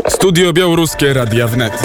Studio Białoruskie Radia Wnet.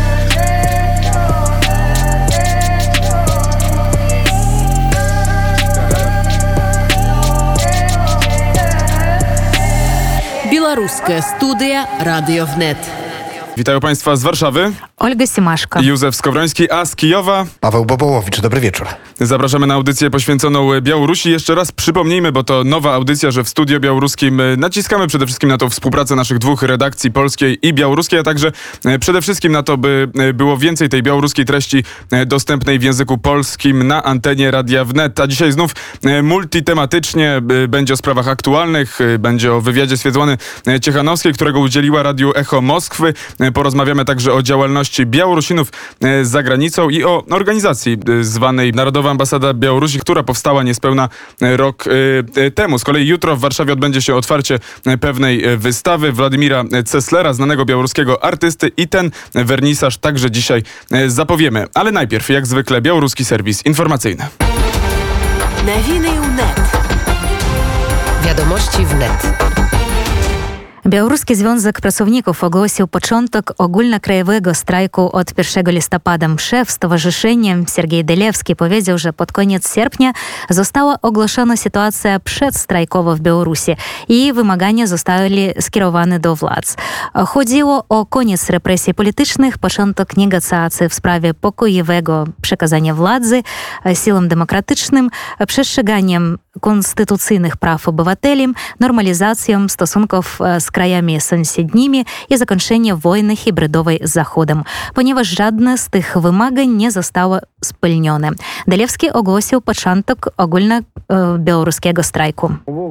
Białoruskie Studia Radio Wnet. Witają Państwa z Warszawy. Olga Simaszko. Józef Skowroński, a z Kijowa Paweł Bobołowicz. Dobry wieczór. Zapraszamy na audycję poświęconą Białorusi. Jeszcze raz przypomnijmy, bo to nowa audycja, że w Studio Białoruskim naciskamy przede wszystkim na tą współpracę naszych dwóch redakcji, polskiej i białoruskiej, a także przede wszystkim na to, by było więcej tej białoruskiej treści dostępnej w języku polskim na antenie Radia Wnet. A dzisiaj znów multitematycznie będzie o sprawach aktualnych, będzie o wywiadzie Swiatłany Ciechanowskiej, którego udzieliła Radiu Echo Moskwy. Porozmawiamy także o działalności Białorusinów za granicą i o organizacji zwanej Narodowa Ambasada Białorusi, która powstała niespełna rok temu. Z kolei jutro w Warszawie odbędzie się otwarcie pewnej wystawy Władimira Ceslera, znanego białoruskiego artysty, i ten wernisaż także dzisiaj zapowiemy. Ale najpierw, jak zwykle, białoruski serwis informacyjny. Nowiny wnet. Wiadomości wnet. Białoruski Związek Pracowników ogłosił początek ogólnokrajowego strajku od 1 listopada. Szef stowarzyszenia Sergiej Delewski powiedział, że pod koniec sierpnia została ogłoszona sytuacja przedstrajkowa w Białorusi i wymagania zostały skierowane do władz. Chodziło o koniec represji politycznych, początek negocjacji w sprawie pokojowego przekazania władzy siłom demokratycznym, przestrzeganiem konstytucyjnych praw obywateli, normalizacją stosunków z krajami sąsiednimi i zakończenie wojny hybrydowej z Zachodem, ponieważ żadne z tych wymagań nie zostało spełnione. Delewski ogłosił początek ogólnobiałoruskiego strajku.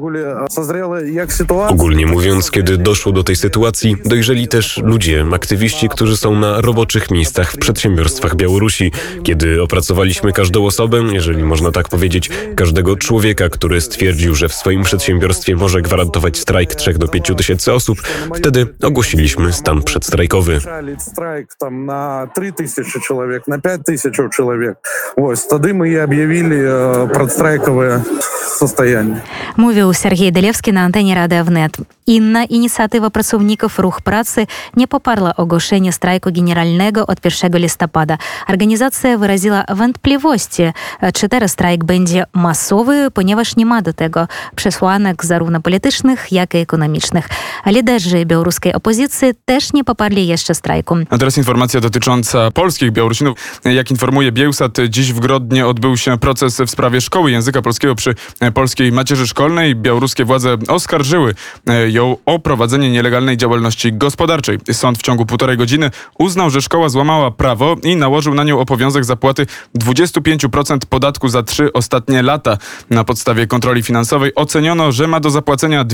Ogólnie mówiąc, kiedy doszło do tej sytuacji, dojrzeli też ludzie, aktywiści, którzy są na roboczych miejscach w przedsiębiorstwach Białorusi. Kiedy opracowaliśmy każdą osobę, jeżeli można tak powiedzieć, każdego człowieka, który stwierdził, że w swoim przedsiębiorstwie może gwarantować strajk 3 do 5 tysięcy osób, wtedy ogłosiliśmy stan przedstrajkowy. Strajk tam na 3000 człowiek, na 5000 człowiek. Wtedy my objawili przedstrajkowe состояние. Mówił Sergiej Delewski na antenie Radia Wnet. Inna inicjatywa pracowników Ruch Pracy nie poparła ogłoszenia strajku generalnego od 1 listopada. Organizacja wyraziła wątpliwości, czy teraz strajk będzie masowy, ponieważ nie ma do tego przesłanek zarówno politycznych, jak i ekonomicznych. Liderzy białoruskiej opozycji też nie poparli jeszcze strajku. A teraz informacja dotycząca polskich Białorusinów. Jak informuje Biełsat, dziś w Grodnie odbył się proces w sprawie szkoły języka polskiego przy polskiej macierzy szkolnej. Białoruskie władze oskarżyły ją o prowadzenie nielegalnej działalności gospodarczej. Sąd w ciągu 1,5 godziny uznał, że szkoła złamała prawo i nałożył na nią obowiązek zapłaty 25% podatku za 3 ostatnie lata. Na podstawie kontroli finansowej oceniono, że ma do zapłacenia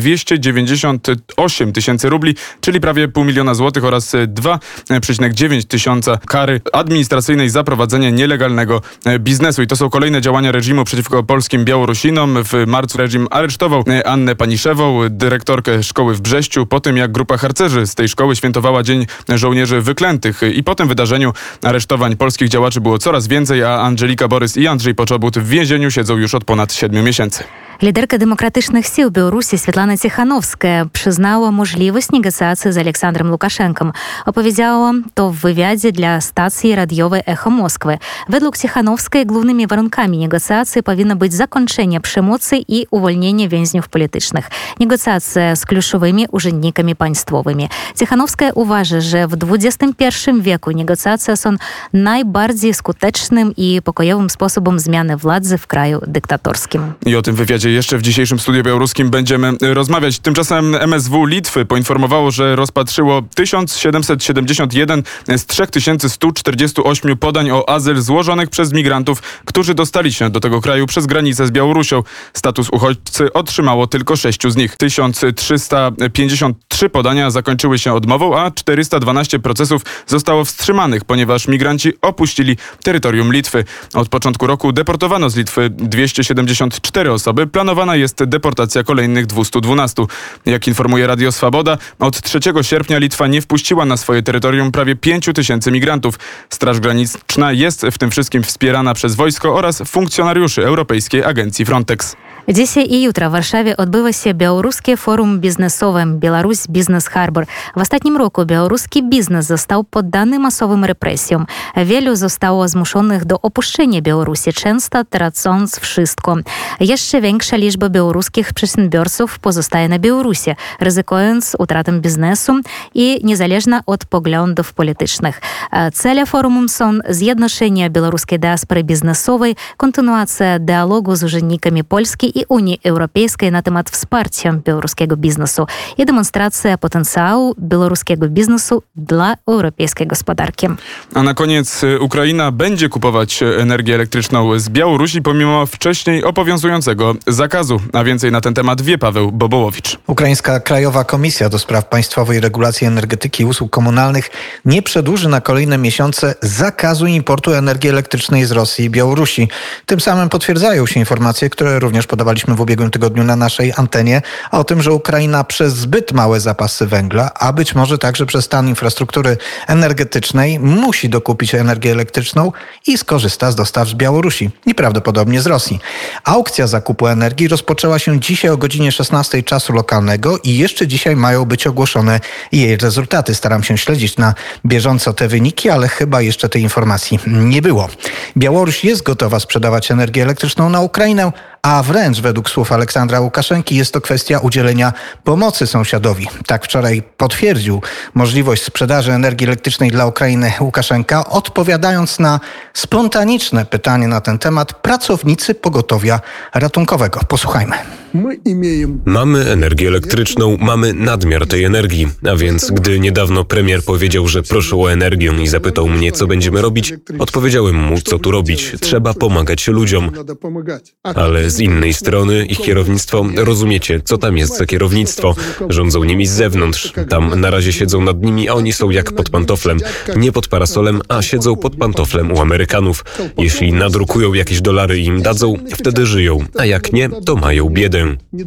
298 tysięcy rubli, czyli prawie 500 000 złotych oraz 2,9 tysiąca kary administracyjnej za prowadzenie nielegalnego biznesu. I to są kolejne działania reżimu przeciwko polskim Białorusinom. W marcu reżim aresztował Annę Paniszewą, dyrektorkę szkoły w Brześciu, po tym jak grupa harcerzy z tej szkoły świętowała Dzień Żołnierzy Wyklętych. I po tym wydarzeniu aresztowań polskich działaczy było coraz więcej, a Angelika Borys i Andrzej Poczobut w więzieniu siedzą już od ponad 7 miesięcy. Liderka Demokratycznych Sił Białorusi Swiatłana Ciechanowska przyznała możliwość negocjacji z Aleksandrem Łukaszenką. Opowiedziała to w wywiadzie dla stacji radiowej Echo Moskwy. Według Ciechanowskiej głównymi warunkami negocjacji powinno być zakończenie przemocy i uwolnienie więźniów politycznych. Negocjacje z kluczowymi urzędnikami państwowymi. Ciechanowska uważa, że w XXI wieku negocjacje są najbardziej skutecznym i pokojowym sposobem zmiany władzy w kraju dyktatorskim. I o tym wywiadzie jeszcze w dzisiejszym Studiu Białoruskim będziemy rozmawiać. Tymczasem MSW Litwy poinformowało, że rozpatrzyło 1771 z 3148 podań o azyl złożonych przez migrantów, którzy dostali się do tego kraju przez granicę z Białorusią. Status uchodźcy otrzymało tylko 6 z nich. 1353 podania zakończyły się odmową, a 412 procesów zostało wstrzymanych, ponieważ migranci opuścili terytorium Litwy. Od początku roku deportowano z Litwy 274 osoby. planowana jest deportacja kolejnych 212. Jak informuje Radio Swoboda, od 3 sierpnia Litwa nie wpuściła na swoje terytorium prawie 5000 migrantów. Straż Graniczna jest w tym wszystkim wspierana przez wojsko oraz funkcjonariuszy Europejskiej Agencji Frontex. Dzisiaj i jutro w Warszawie odbywa się białoruskie forum biznesowe Białoruś Business Harbor. W ostatnim roku białoruski biznes został poddany masowym represjom. Wielu zostało zmuszonych do opuszczenia Białorusi, często tracąc wszystko. Jeszcze większa liczba białoruskich przedsiębiorców pozostaje na Białorusi, ryzykując utratę biznesu i niezależnie od poglądów politycznych. Cele forum są zjednoczenie białoruskiej diaspory biznesowej, kontynuacja dialogu z urzędnikami Polski i Unii Europejskiej na temat wsparcia białoruskiego biznesu i demonstracja potencjału białoruskiego biznesu dla europejskiej gospodarki. A na koniec Ukraina będzie kupować energię elektryczną z Białorusi pomimo wcześniej obowiązującego zakazu. A więcej na ten temat wie Paweł Bobołowicz. Ukraińska Krajowa Komisja do Spraw Państwowej Regulacji Energetyki i Usług Komunalnych nie przedłuży na kolejne miesiące zakazu importu energii elektrycznej z Rosji i Białorusi. Tym samym potwierdzają się informacje, które również podawaliśmy w ubiegłym tygodniu na naszej antenie, o tym, że Ukraina przez zbyt małe zapasy węgla, a być może także przez stan infrastruktury energetycznej, musi dokupić energię elektryczną i skorzysta z dostaw z Białorusi i prawdopodobnie z Rosji. Aukcja zakupu energii rozpoczęła się dzisiaj o godzinie 16 czasu lokalnego i jeszcze dzisiaj mają być ogłoszone jej rezultaty. Staram się śledzić na bieżąco te wyniki, ale chyba jeszcze tej informacji nie było. Białoruś jest gotowa sprzedawać energię elektryczną na Ukrainę, a wręcz według słów Aleksandra Łukaszenki jest to kwestia udzielenia pomocy sąsiadowi. Tak wczoraj potwierdził możliwość sprzedaży energii elektrycznej dla Ukrainy Łukaszenka, odpowiadając na spontaniczne pytanie na ten temat pracownicy pogotowia ratunkowego. Posłuchajmy. Mamy energię elektryczną, mamy nadmiar tej energii, a więc gdy niedawno premier powiedział, że proszę o energię i zapytał mnie, co będziemy robić, odpowiedziałem mu, co tu robić. Trzeba pomagać ludziom. Ale z innej strony ich kierownictwo, rozumiecie, co tam jest za kierownictwo? Rządzą nimi z zewnątrz. Tam na razie siedzą nad nimi, a oni są jak pod pantoflem. Nie pod parasolem, a siedzą pod pantoflem u Amerykanów. Jeśli nadrukują jakieś dolary i im dadzą, wtedy żyją, a jak nie, to mają biedę.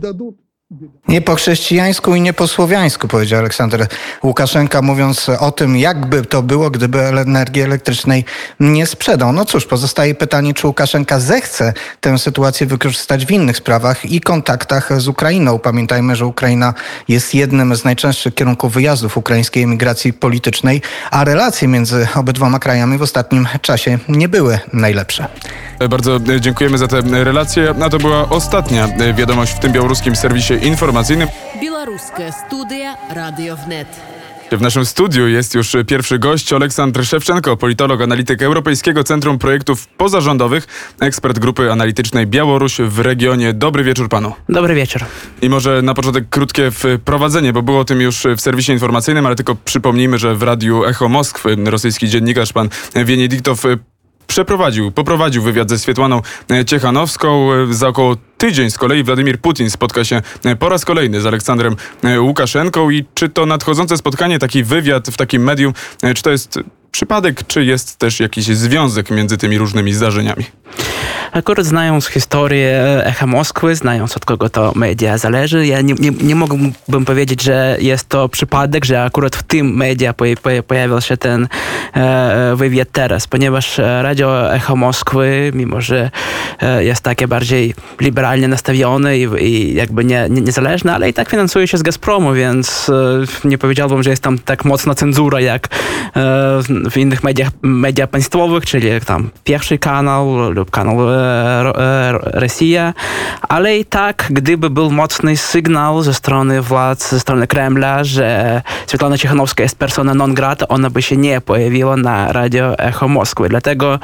Nie po chrześcijańsku i nie po słowiańsku, powiedział Aleksander Łukaszenka, mówiąc o tym, jakby to było, gdyby energii elektrycznej nie sprzedał. No cóż, pozostaje pytanie, czy Łukaszenka zechce tę sytuację wykorzystać w innych sprawach i kontaktach z Ukrainą. Pamiętajmy, że Ukraina jest jednym z najczęstszych kierunków wyjazdów ukraińskiej emigracji politycznej, a relacje między obydwoma krajami w ostatnim czasie nie były najlepsze. Bardzo dziękujemy za te relacje. A to była ostatnia wiadomość w tym białoruskim serwisie informacyjnym. Białoruska studia Radio Wnet. W naszym studiu jest już pierwszy gość, Oleksandr Szewczenko, politolog, analityk Europejskiego Centrum Projektów Pozarządowych, ekspert grupy analitycznej Białoruś w regionie. Dobry wieczór panu. Dobry wieczór. I może na początek krótkie wprowadzenie, bo było o tym już w serwisie informacyjnym, ale tylko przypomnijmy, że w Radiu Echo Moskwy rosyjski dziennikarz pan Wieniediktow poprowadził wywiad ze Swietłaną Ciechanowską. Za około tydzień z kolei Władimir Putin spotka się po raz kolejny z Aleksandrem Łukaszenką. I czy to nadchodzące spotkanie, taki wywiad w takim medium, czy to jest przypadek, czy jest też jakiś związek między tymi różnymi zdarzeniami? Akurat znając historię Echa Moskwy, znając od kogo to media zależy, ja nie mógłbym powiedzieć, że jest to przypadek, że akurat w tym media pojawił się ten wywiad teraz, ponieważ Radio Echo Moskwy, mimo że jest takie bardziej liberalnie nastawione i jakby niezależne, ale i tak finansuje się z Gazpromu, więc nie powiedziałbym, że jest tam tak mocna cenzura jak w innych mediach państwowych, czyli tam Pierwszy Kanał lub Kanał Rosja, ale i tak, gdyby był mocny sygnał ze strony władz, ze strony Kremla, że Swietłana Ciechanowska jest persona non grata, ona by się nie pojawiła na Radio Echo Moskwy. Dlatego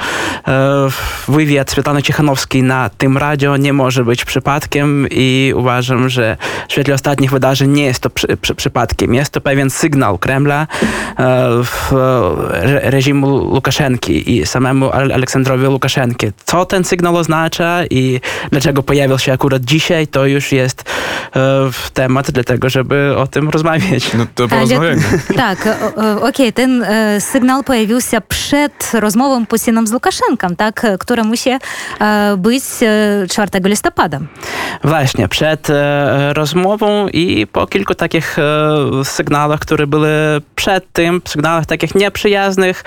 wywiad Swietłany Ciechanowskiej na tym radio nie może być przypadkiem i uważam, że w świetle ostatnich wydarzeń nie jest to przypadkiem. Jest to pewien sygnał Kremla, reżimu Łukaszenki i samemu Aleksandrowi Łukaszenki. Co ten sygnał oznacza i dlaczego pojawił się akurat dzisiaj, to już jest temat dlatego, żeby o tym rozmawiać. No to porozmawiajmy. Tak, okej, ten sygnał pojawił się przed rozmową Putina z Łukaszenką, tak, która musi być 4 listopada. Właśnie, przed rozmową i po kilku takich sygnałach, które były przed tym, sygnałach takich nieprzyjaznych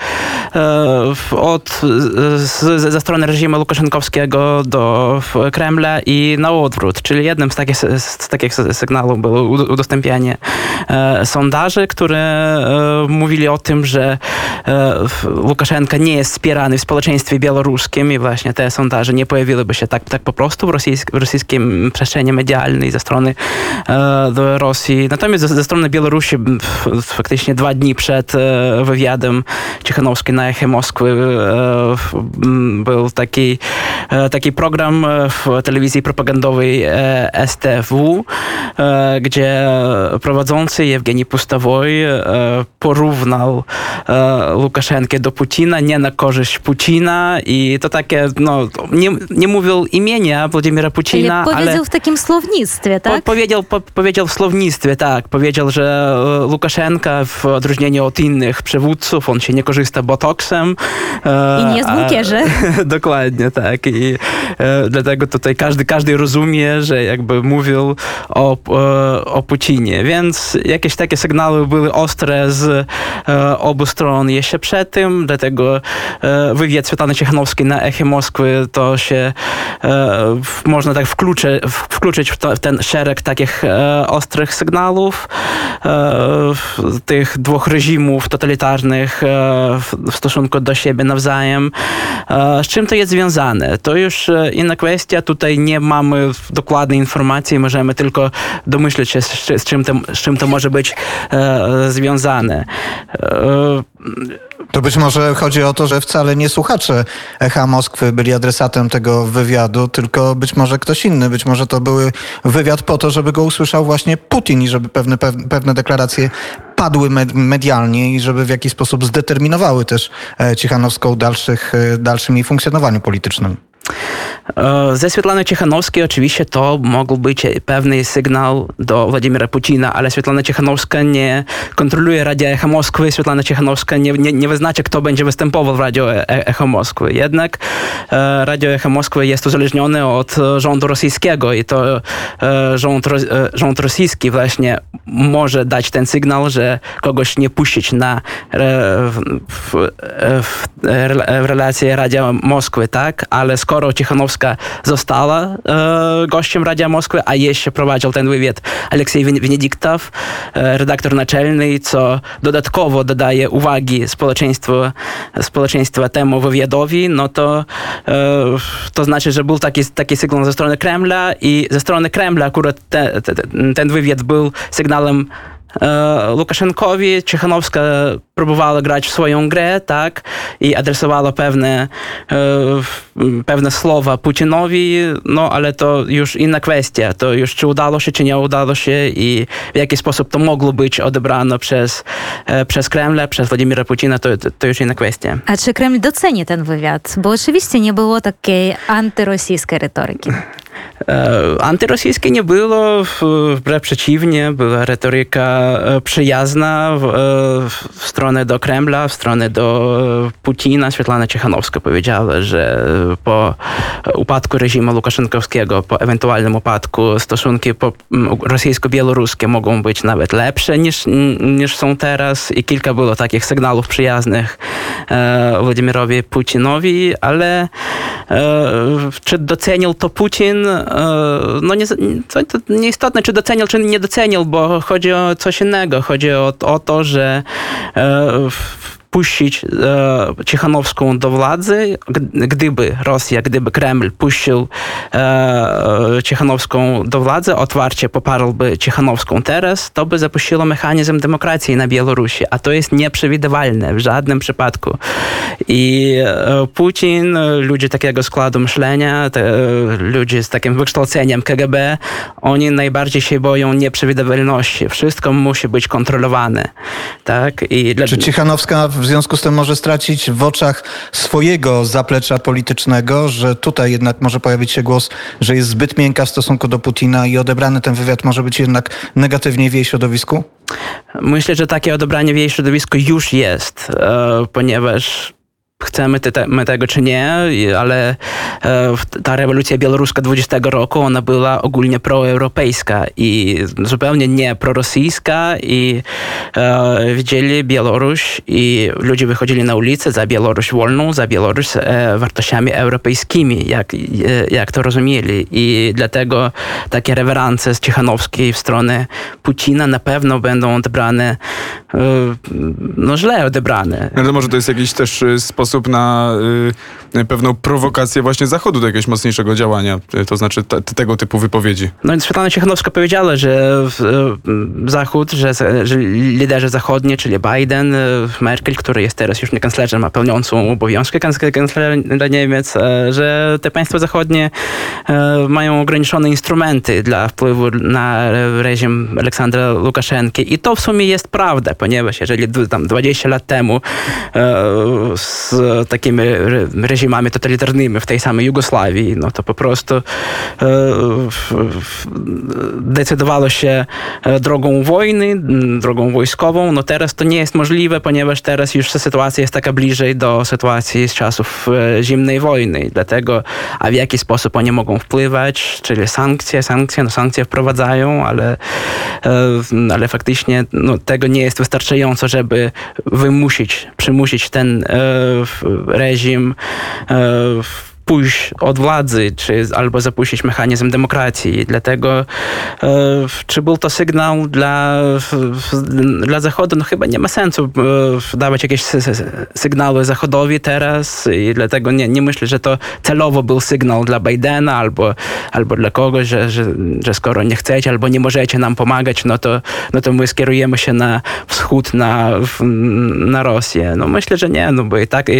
ze strony reżimu Łukaszenkowskiego do Kremla i na odwrót. Czyli jednym z takich sygnałów było udostępnianie sondaży, które mówili o tym, że Łukaszenka nie jest wspierany w społeczeństwie białoruskim i właśnie te sondaże nie pojawiłyby się tak po prostu w rosyjskim przestrzeni medialnej ze strony Rosji. Natomiast ze strony Białorusi faktycznie 2 dni przed wywiadem Cichanowskiej na Echo Moskwy był taki program w telewizji propagandowej STW, gdzie prowadzący Jewgeni Pustowoj porównał Łukaszenkę do Putina, nie na korzyść Putina i to takie, nie mówił imienia Władimira Putina, ale powiedział w takim słownictwie, tak? Powiedział w słownictwie, tak. Powiedział, że Łukaszenka w odróżnieniu od innych przywódców, on się nie korzysta botoksem. I nie jest w bunkierze. Dokładnie, tak. I dlatego tutaj każdy rozumie, że jakby mówił o Putinie. Więc jakieś takie sygnały były ostre z obu stron jeszcze przed tym, dlatego wywiad Svetlany Cichanowskiej na Echo Moskwy to się można tak wkluczyć w ten szereg takich ostrych sygnałów tych 2 reżimów totalitarnych w stosunku do siebie nawzajem. Z czym to jest związane? To już inna kwestia. Tutaj nie mamy dokładnej informacji, możemy tylko domyśleć się, z czym to może być związane. To być może chodzi o to, że wcale nie słuchacze Echa Moskwy byli adresatem tego wywiadu, tylko być może ktoś inny. Być może to był wywiad po to, żeby go usłyszał właśnie Putin i żeby pewne deklaracje padły medialnie i żeby w jakiś sposób zdeterminowały też Cichanowską dalszym jej funkcjonowaniu politycznym. Ze Svetlany Cichanowskiej oczywiście to mógł być pewny sygnał do Władimira Putina, ale Svetlana Cichanowska nie kontroluje Radia Echo Moskwy. Svetlana Cichanowska nie wyznacza, kto będzie występował w Radio Echo Moskwy. Jednak Radio Echo Moskwy jest uzależnione od rządu rosyjskiego i to rząd rosyjski właśnie może dać ten sygnał, że kogoś nie puścić w relacje Radia Moskwy, tak? Ale skoro Cichanowska została gościem Radia Moskwy, a jeszcze prowadził ten wywiad Aleksiej Wenedyktow, redaktor naczelny, co dodatkowo dodaje uwagi społeczeństwa temu wywiadowi, no to znaczy, że był taki sygnał ze strony Kremla i ze strony Kremla akurat ten wywiad był sygnałem Łukaszenkowi. Cichanowska próbowała grać w swoją grę, tak, i adresowała pewne słowa Putinowi, ale to już inna kwestia. To już czy udało się, czy nie udało się i w jaki sposób to mogło być odebrane przez Kremla, przez Władimira Putina, to już inna kwestia. A czy Kreml doceni ten wywiad? Bo oczywiście nie było takiej antyrosyjskiej retoryki. Antyrosyjskiej nie było, wbrew przeciwnie, była retoryka przyjazna w stronę do Kremla, w stronę do Putina. Svetlana Cichanowska powiedziała, że po upadku reżimu Łukaszenkowskiego, po ewentualnym upadku stosunki rosyjsko-białoruskie mogą być nawet lepsze niż są teraz i kilka było takich sygnałów przyjaznych Władimirowi Putinowi, ale czy docenił to Putin? To nieistotne, czy docenił, czy nie docenił, bo chodzi o coś innego. Chodzi o to, że puścić Cichanowską do władzy, gdyby Kreml puścił Cichanowską do władzy, otwarcie poparłby Cichanowską teraz, to by zapuściło mechanizm demokracji na Białorusi, a to jest nieprzewidywalne w żadnym przypadku. I Putin, ludzie takiego składu myślenia, ludzie z takim wykształceniem KGB, oni najbardziej się boją nieprzewidywalności. Wszystko musi być kontrolowane. Tak? Czy Cichanowska w związku z tym może stracić w oczach swojego zaplecza politycznego, że tutaj jednak może pojawić się głos, że jest zbyt miękka w stosunku do Putina i odebrany ten wywiad może być jednak negatywnie w jej środowisku? Myślę, że takie odebranie w jej środowisku już jest, ponieważ chcemy my tego czy nie, ale ta rewolucja białoruska 20 roku, ona była ogólnie proeuropejska i zupełnie nie prorosyjska i widzieli Białoruś i ludzie wychodzili na ulicę za Białoruś wolną, za Białoruś z wartościami europejskimi, jak to rozumieli. I dlatego takie rewerancje z Cichanowskiej w stronę Putina na pewno będą odebrane, źle odebrane. Ale może to jest jakiś też sposób na pewną prowokację właśnie Zachodu do jakiegoś mocniejszego działania, to znaczy tego typu wypowiedzi. No i Svetlana Cichanowska powiedziała, że Zachód, że liderzy zachodni, czyli Biden, Merkel, który jest teraz już nie kanclerzem, a pełniącą obowiązki kanclerza Niemiec, że te państwa zachodnie mają ograniczone instrumenty dla wpływu na reżim Aleksandra Łukaszenki. I to w sumie jest prawda, ponieważ jeżeli tam 20 lat temu z takimi reżimami totalitarnymi w tej samej Jugosławii, no to po prostu decydowało się drogą wojny, drogą wojskową. No teraz to nie jest możliwe, ponieważ teraz już sytuacja jest taka bliżej do sytuacji z czasów zimnej wojny. Dlatego, a w jaki sposób oni mogą wpływać, czyli sankcje wprowadzają, ale faktycznie tego nie jest wystarczająco, żeby przymusić ten reżim pójść od władzy, albo zapuścić mechanizm demokracji. Dlatego czy był to sygnał dla Zachodu? No chyba nie ma sensu dawać jakieś sygnały Zachodowi teraz i dlatego nie myślę, że to celowo był sygnał dla Bidena albo dla kogoś, że skoro nie chcecie albo nie możecie nam pomagać, no to my skierujemy się na wschód, na Rosję. No myślę, że nie, bo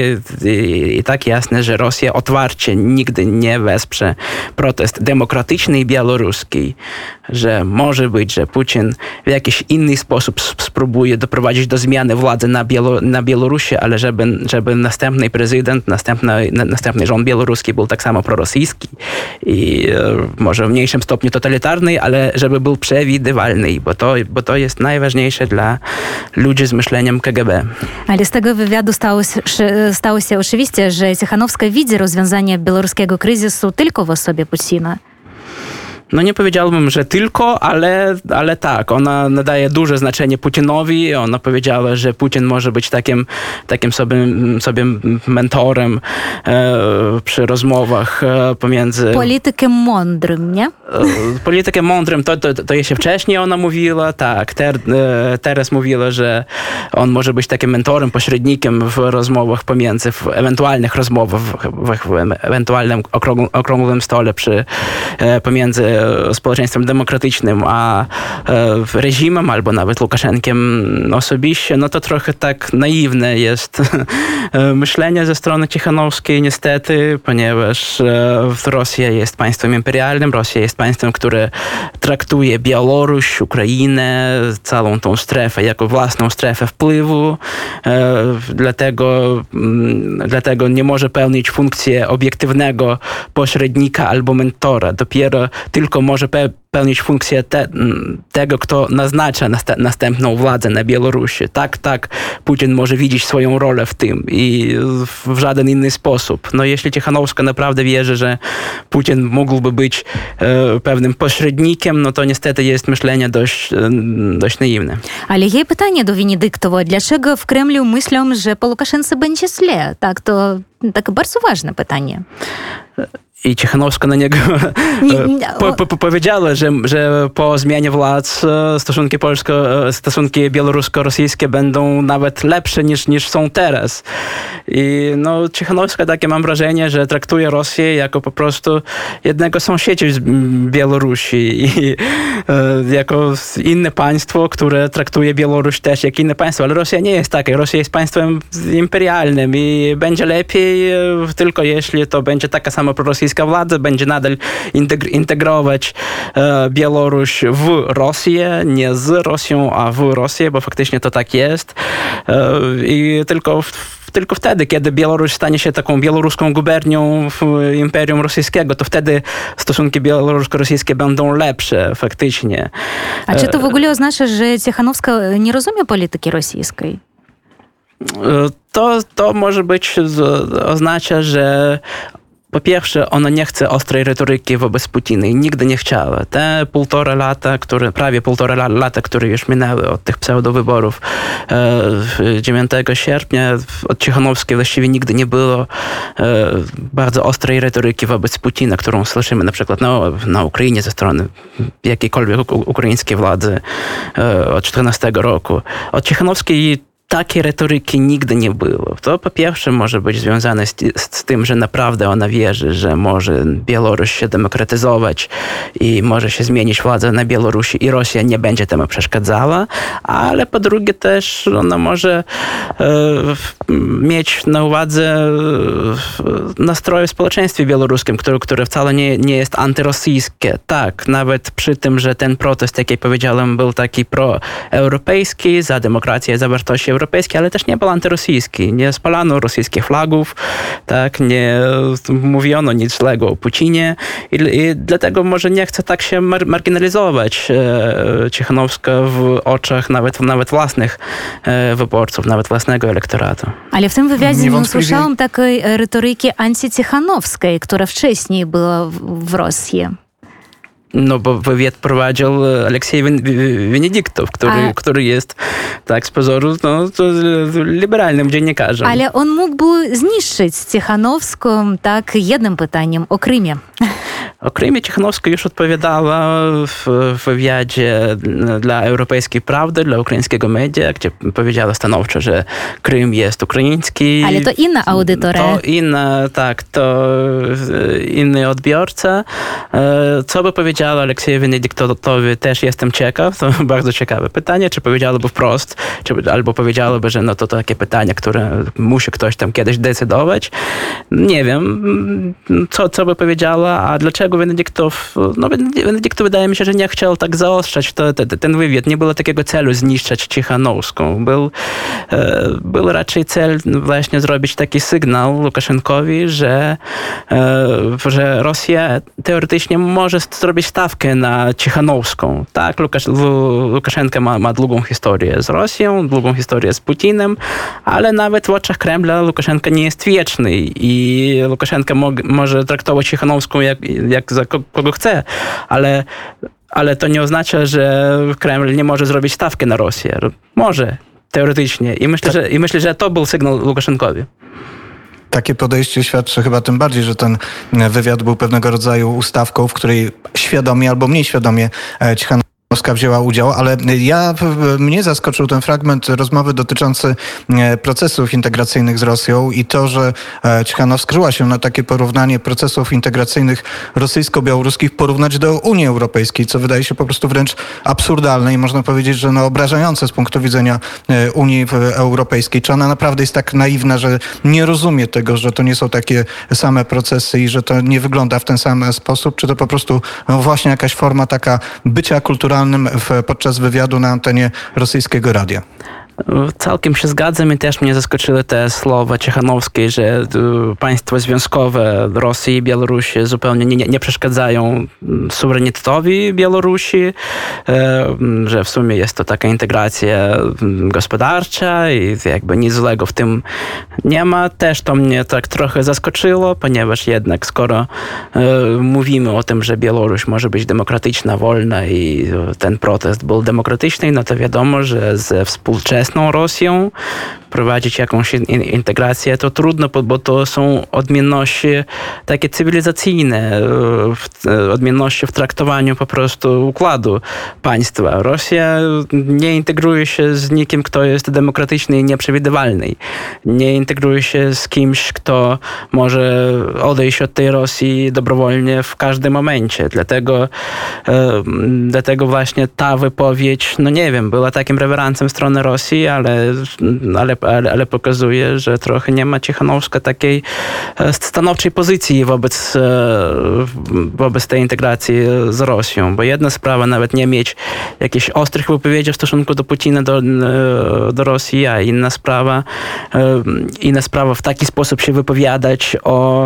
i tak jasne, że Rosja otwarcie nigdy nie wesprze protest demokratyczny i białoruski, że może być, że Putin w jakiś inny sposób spróbuje doprowadzić do zmiany władzy na Białorusi, ale żeby następny prezydent, następny rząd białoruski był tak samo prorosyjski i może w mniejszym stopniu totalitarny, ale żeby był przewidywalny, bo to jest najważniejsze dla ludzi z myśleniem KGB. Ale z tego wywiadu stało się oczywiście, że Cichanowska widzi rozwiązanie białoruskiego kryzysu tylko w osobie Putina. No nie powiedziałbym, że tylko, ale tak, ona nadaje duże znaczenie Putinowi. Ona powiedziała, że Putin może być takim sobie mentorem przy rozmowach pomiędzy... Politykiem mądrym, nie? Politykiem mądrym, to jeszcze wcześniej ona mówiła, tak. Teraz mówiła, że on może być takim mentorem, pośrednikiem w rozmowach pomiędzy, w ewentualnych rozmowach, w ewentualnym okrągłym stole pomiędzy społeczeństwem demokratycznym a reżimem, albo nawet Łukaszenkiem osobiście, no to trochę tak naiwne jest myślenie ze strony Cichanowskiej niestety, ponieważ Rosja jest państwem imperialnym, Rosja jest państwem, które traktuje Białoruś, Ukrainę, całą tą strefę jako własną strefę wpływu, dlatego nie może pełnić funkcję obiektywnego pośrednika albo mentora. Dopiero tylko może pełnić funkcję tego, kto naznacza następną władzę na Białorusi. Tak, Putin może widzieć swoją rolę w tym i w żaden inny sposób. No jeśli Cichanowska naprawdę wierzy, że Putin mógłby być pewnym pośrednikiem, no to niestety jest myślenie dość naiwne. Ale jej pytanie do Wenedyktowa, dlaczego w Kremlu myślą, że po Łukaszence będzie źle? Tak, to takie bardzo ważne pytanie. I Cichanowska na niego powiedziała, że po zmianie władz stosunki białorusko-rosyjskie będą nawet lepsze niż są teraz. I no, Cichanowska, takie mam wrażenie, że traktuje Rosję jako po prostu jednego sąsiedzi z Białorusi i jako inne państwo, które traktuje Białoruś też jak inne państwo. Ale Rosja nie jest taka. Rosja jest państwem imperialnym i będzie lepiej tylko jeśli to będzie taka sama prorosyjska władza, będzie nadal integrować Białoruś w Rosję, nie z Rosją, a w Rosję, bo faktycznie to tak jest. I tylko wtedy, kiedy Białoruś stanie się taką białoruską gubernią Imperium Rosyjskiego, to wtedy stosunki białorusko-rosyjskie będą lepsze faktycznie. A czy to w ogóle oznacza, że Cichanowska nie rozumie polityki rosyjskiej? To może być, oznacza, że po pierwsze, ona nie chce ostrej retoryki wobec Putina i nigdy nie chciała. Te prawie półtora lata, które już minęły od tych pseudowyborów 9 sierpnia, od Cichanowskiej właściwie nigdy nie było bardzo ostrej retoryki wobec Putina, którą słyszymy na przykład na Ukrainie ze strony jakiejkolwiek ukraińskiej władzy od 2014 roku. Od Cichanowskiej takiej retoryki nigdy nie było. To po pierwsze może być związane z tym, że naprawdę ona wierzy, że może Białoruś się demokratyzować i może się zmienić władza na Białorusi i Rosja nie będzie temu przeszkadzała, ale po drugie też ona może mieć na uwadze nastroje w społeczeństwie białoruskim, które wcale nie jest antyrosyjskie. Tak, nawet przy tym, że ten protest, jak ja powiedziałem, był taki proeuropejski, za demokrację, za wartości europejskie, ale też nie był antyrosyjski. Nie spalano rosyjskich flagów, tak, nie mówiono nic złego o Putinie i dlatego może nie chce tak się marginalizować Cichanowska w oczach nawet własnych wyborców, nawet własnego elektoratu. Ale w tym wywiadzie nie usłyszałam takiej retoryki antycichanowskiej, która wcześniej była w Rosji. No bo wywiad prowadził Aleksiej Wenedyktow, który jest, tak z pozoru, liberalnym dziennikarzem. Ale on mógłby zniszczyć Cichanowską tak jednym pytaniem o Krymie. O Krymie Cichanowska już odpowiadała w wywiadzie dla Europejskiej Prawdy, dla ukraińskiego media, gdzie powiedziała stanowczo, że Krym jest ukraiński. Ale to inna audytoria. To inny odbiorca. Co by powiedziała Aleksiejowi Wenedyktowi, też jestem ciekaw. To bardzo ciekawe pytanie. Czy powiedziałaby wprost, albo powiedziałaby, że to takie pytanie, które musi ktoś tam kiedyś decydować. Nie wiem, co by powiedziała, a dlaczego Wenedyktow, Wenedyktow wydaje mi się, że nie chciał tak zaostrzać ten wywiad. Nie było takiego celu zniszczyć Cichanowską. Był raczej cel właśnie zrobić taki sygnał Łukaszenkowi, że Rosja teoretycznie może zrobić stawkę na Cichanowską. Tak, Łukaszenka ma długą historię z Rosją, długą historię z Putinem, ale nawet w oczach Kremla Łukaszenka nie jest wieczny i Łukaszenka może traktować Cichanowską jak za kogo chce, ale to nie oznacza, że Kreml nie może zrobić stawkę na Rosję. Może, teoretycznie. I myślę, że to był sygnał Łukaszenkowi. Takie podejście świadczy chyba tym bardziej, że ten wywiad był pewnego rodzaju ustawką, w której świadomie albo mniej świadomie Cichanowska wzięła udział, ale mnie zaskoczył ten fragment rozmowy dotyczący procesów integracyjnych z Rosją i to, że Cichanowska skryła się na takie porównanie procesów integracyjnych rosyjsko-białoruskich porównać do Unii Europejskiej, co wydaje się po prostu wręcz absurdalne i można powiedzieć, że obrażające z punktu widzenia Unii Europejskiej. Czy ona naprawdę jest tak naiwna, że nie rozumie tego, że to nie są takie same procesy i że to nie wygląda w ten sam sposób? Czy to po prostu właśnie jakaś forma taka bycia kulturalnym podczas wywiadu na antenie rosyjskiego radia? Całkiem się zgadzam i też mnie zaskoczyły te słowa Cichanowskiej, że państwa związkowe Rosji i Białorusi zupełnie nie przeszkadzają suwerenitetowi Białorusi, że w sumie jest to taka integracja gospodarcza i jakby nic złego w tym nie ma. Też to mnie tak trochę zaskoczyło, ponieważ jednak skoro mówimy o tym, że Białoruś może być demokratyczna, wolna i ten protest był demokratyczny, no to wiadomo, że ze współczesnych piękną Rosją, prowadzić jakąś integrację, to trudno, bo to są odmienności takie cywilizacyjne, odmienności w traktowaniu po prostu układu państwa. Rosja nie integruje się z nikim, kto jest demokratyczny i nieprzewidywalny. Nie integruje się z kimś, kto może odejść od tej Rosji dobrowolnie w każdym momencie. Dlatego właśnie ta wypowiedź, no nie wiem, była takim reweransem w stronę Rosji, ale pokazuje, że trochę nie ma Cichanowska takiej stanowczej pozycji wobec tej integracji z Rosją. Bo jedna sprawa nawet nie mieć jakichś ostrych wypowiedzi w stosunku do Putina, do Rosji, a inna sprawa w taki sposób się wypowiadać o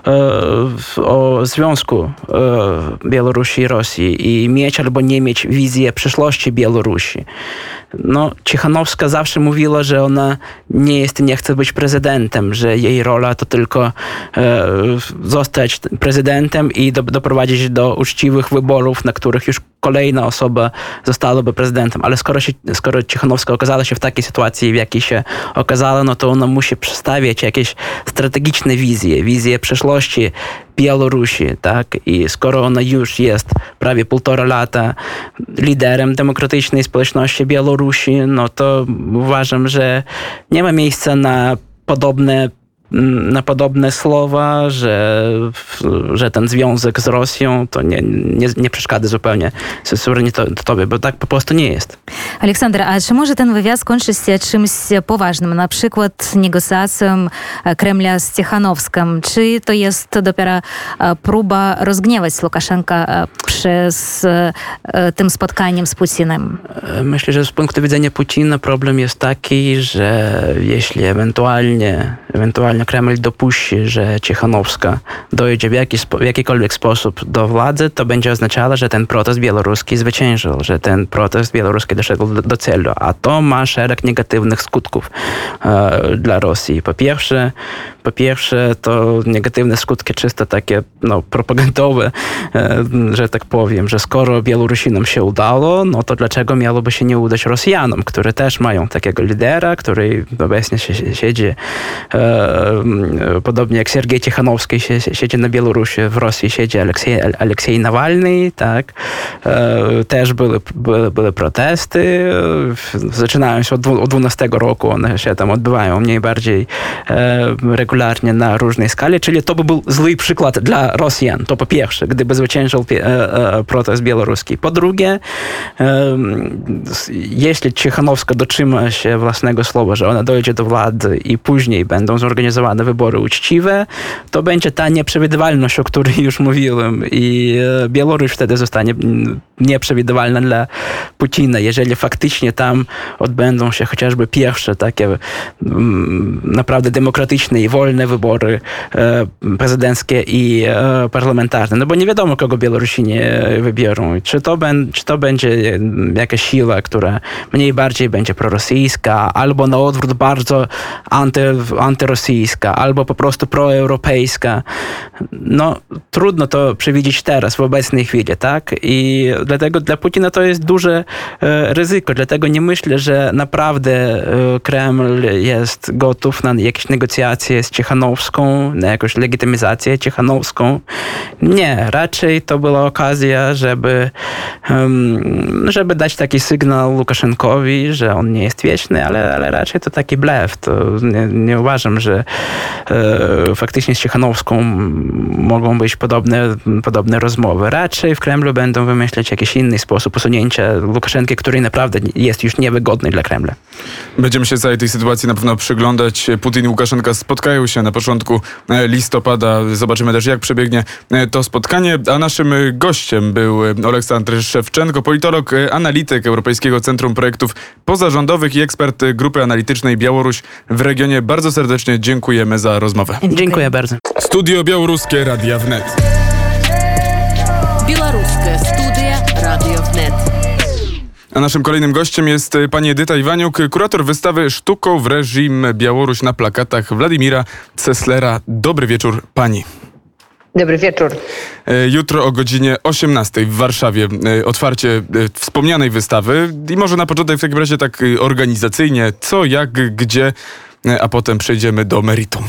związku Białorusi i Rosji i mieć albo nie mieć wizję przyszłości Białorusi. No, Cichanowska zawsze mówiła, że ona nie chce być prezydentem, że jej rola to tylko zostać prezydentem i doprowadzić do uczciwych wyborów, na których już kolejna osoba zostałaby prezydentem. Ale skoro Cichanowska okazała się w takiej sytuacji, w jakiej się okazała, no to ona musi przedstawiać jakieś strategiczne wizje przyszłości Białorusi, tak? I skoro ona już jest prawie 1,5 lata liderem demokratycznej społeczności Białorusi, no to uważam, że nie ma miejsca na podobne słowa, że ten związek z Rosją to nie przeszkadza zupełnie suwerenitetowi, bo tak po prostu nie jest. Aleksander, a czy może ten wywiad skończyć się czymś poważnym, na przykład negocjacją Kremla z Cichanowskim? Czy to jest dopiero próba rozgniewać Łukaszenka przez tym spotkaniem z Putinem? Myślę, że z punktu widzenia Putina problem jest taki, że jeśli ewentualnie Kreml dopuści, że Cichanowska dojdzie w jakikolwiek sposób do władzy, to będzie oznaczało, że ten protest białoruski zwyciężył, że ten protest białoruski doszedł do celu, a to ma szereg negatywnych skutków dla Rosji. Po pierwsze, to negatywne skutki czysto takie propagandowe, że tak powiem, że skoro Białorusinom się udało, no to dlaczego miałoby się nie udać Rosjanom, które też mają takiego lidera, który obecnie siedzi podobnie jak Sergiej Cichanowski siedzi na Białorusi, w Rosji siedzi Aleksiej Nawalny, tak. Też były protesty, zaczynają się od 2012 roku, one się tam odbywają mniej bardziej regularnie na różnej skali, czyli to by był zły przykład dla Rosjan, to po pierwsze, gdyby zwyciężył protest białoruski. Po drugie, jeśli Cichanowska dotrzyma się własnego słowa, że ona dojdzie do władzy i później będą zorganizowane wybory uczciwe, to będzie ta nieprzewidywalność, o której już mówiłem, i Białoruś wtedy zostanie nieprzewidywalna dla Putina. Jeżeli faktycznie tam odbędą się chociażby pierwsze takie naprawdę demokratyczne i wolne wybory prezydenckie i parlamentarne, no bo nie wiadomo, kogo Białorusini wybiorą. Czy to będzie jakaś siła, która mniej bardziej będzie prorosyjska, albo na odwrót bardzo antyrosyjska, albo po prostu proeuropejska. No, trudno to przewidzieć teraz, w obecnej chwili, tak? I dlatego dla Putina to jest duże ryzyko. Dlatego nie myślę, że naprawdę Kreml jest gotów na jakieś negocjacje z Cichanowską, na jakąś legitymizację Cichanowską. Nie, raczej to była okazja, żeby dać taki sygnał Łukaszenkowi, że on nie jest wieczny, ale raczej to taki blef. To nie uważam, że faktycznie z Cichanowską mogą być podobne rozmowy. Raczej w Kremlu będą wymyślać jakiś inny sposób usunięcia Łukaszenki, który naprawdę jest już niewygodny dla Kremla. Będziemy się całej tej sytuacji na pewno przyglądać. Putin i Łukaszenka spotkają się na początku listopada. Zobaczymy też, jak przebiegnie to spotkanie. A naszym gościem był Oleksandr Szewczenko, politolog, analityk Europejskiego Centrum Projektów Pozarządowych i ekspert grupy analitycznej Białoruś w regionie. Bardzo serdecznie dziękujemy za rozmowę. Dziękuję bardzo. Studio Białoruskie Radia Wnet. Białoruskie Studia Radio Wnet. A naszym kolejnym gościem jest pani Edyta Iwaniuk, kurator wystawy Sztuką w reżim Białoruś na plakatach Władimira Ceslera. Dobry wieczór pani. Dobry wieczór. Jutro o godzinie 18 w Warszawie otwarcie wspomnianej wystawy i może na początek w takim razie tak organizacyjnie co, jak, gdzie, a potem przejdziemy do meritum.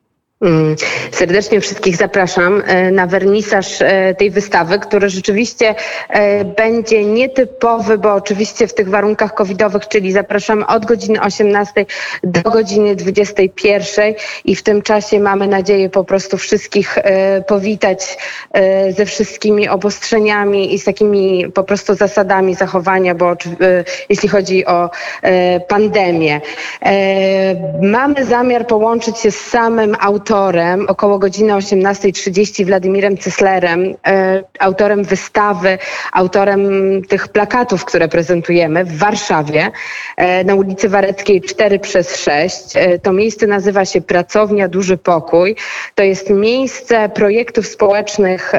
Serdecznie wszystkich zapraszam na wernisaż tej wystawy, który rzeczywiście będzie nietypowy, bo oczywiście w tych warunkach covidowych, czyli zapraszamy od godziny 18 do godziny 21 i w tym czasie mamy nadzieję po prostu wszystkich powitać ze wszystkimi obostrzeniami i z takimi po prostu zasadami zachowania, bo jeśli chodzi o pandemię. Mamy zamiar połączyć się z samym autorem około godziny 18:30 Władimirem Ceslerem, autorem wystawy, autorem tych plakatów, które prezentujemy w Warszawie na ulicy Wareckiej 4/6. To miejsce nazywa się Pracownia Duży Pokój. To jest miejsce projektów społecznych,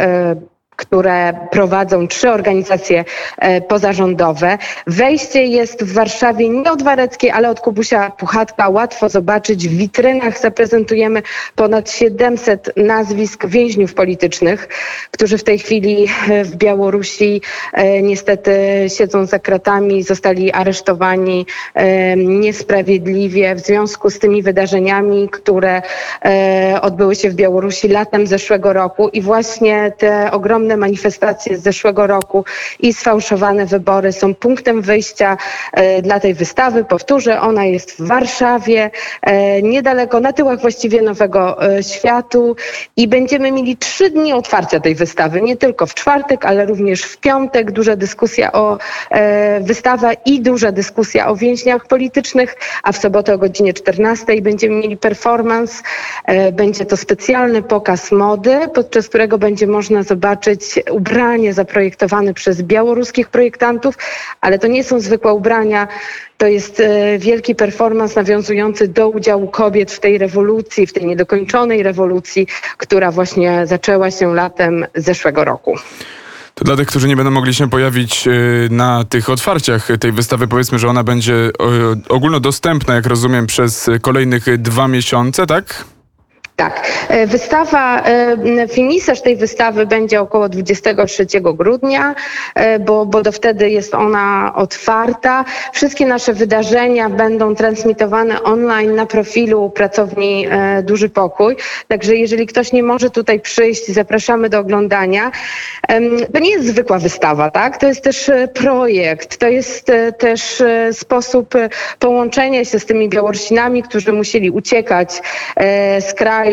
które prowadzą 3 organizacje pozarządowe. Wejście jest w Warszawie nie od Wareckiej, ale od Kubusia Puchatka. Łatwo zobaczyć. W witrynach zaprezentujemy ponad 700 nazwisk więźniów politycznych, którzy w tej chwili w Białorusi niestety siedzą za kratami, zostali aresztowani niesprawiedliwie w związku z tymi wydarzeniami, które odbyły się w Białorusi latem zeszłego roku i właśnie te ogromne manifestacje z zeszłego roku i sfałszowane wybory są punktem wyjścia dla tej wystawy. Powtórzę, ona jest w Warszawie, niedaleko, na tyłach właściwie Nowego Światu i będziemy mieli 3 dni otwarcia tej wystawy. Nie tylko w czwartek, ale również w piątek. Duża dyskusja o wystawa i duża dyskusja o więźniach politycznych, a w sobotę o godzinie 14 będziemy mieli performance. Będzie to specjalny pokaz mody, podczas którego będzie można zobaczyć ubrania zaprojektowane przez białoruskich projektantów, ale to nie są zwykłe ubrania. To jest wielki performans nawiązujący do udziału kobiet w tej rewolucji, w tej niedokończonej rewolucji, która właśnie zaczęła się latem zeszłego roku. To dla tych, którzy nie będą mogli się pojawić na tych otwarciach tej wystawy, powiedzmy, że ona będzie ogólnodostępna, jak rozumiem, przez kolejnych 2 miesiące, tak? Tak. Wystawa, finiszerz tej wystawy będzie około 23 grudnia, bo do wtedy jest ona otwarta. Wszystkie nasze wydarzenia będą transmitowane online na profilu Pracowni Duży Pokój. Także jeżeli ktoś nie może tutaj przyjść, zapraszamy do oglądania. To nie jest zwykła wystawa, tak? To jest też projekt, to jest też sposób połączenia się z tymi Białorusinami, którzy musieli uciekać z kraju